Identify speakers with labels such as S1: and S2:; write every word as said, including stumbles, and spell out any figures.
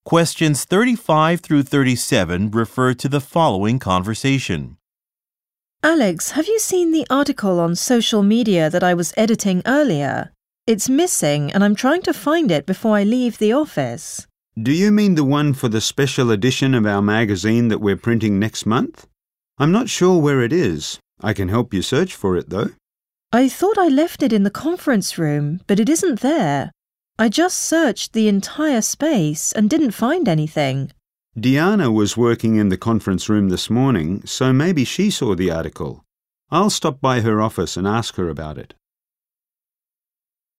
S1: Questions thirty-five through thirty-seven refer to the following conversation.
S2: Alex, have you seen the article on social media that I was editing earlier? It's missing and I'm trying to find it before I leave the office.
S3: Do you mean the one for the special edition of our magazine that we're printing next month? I'm not sure where it is. I can help you search for it, though.
S2: I thought I left it in the conference room, but it isn't there. I just searched the entire space and didn't find anything.
S3: Diana was working in the conference room this morning, so maybe she saw the article. I'll stop by her office and ask her about it.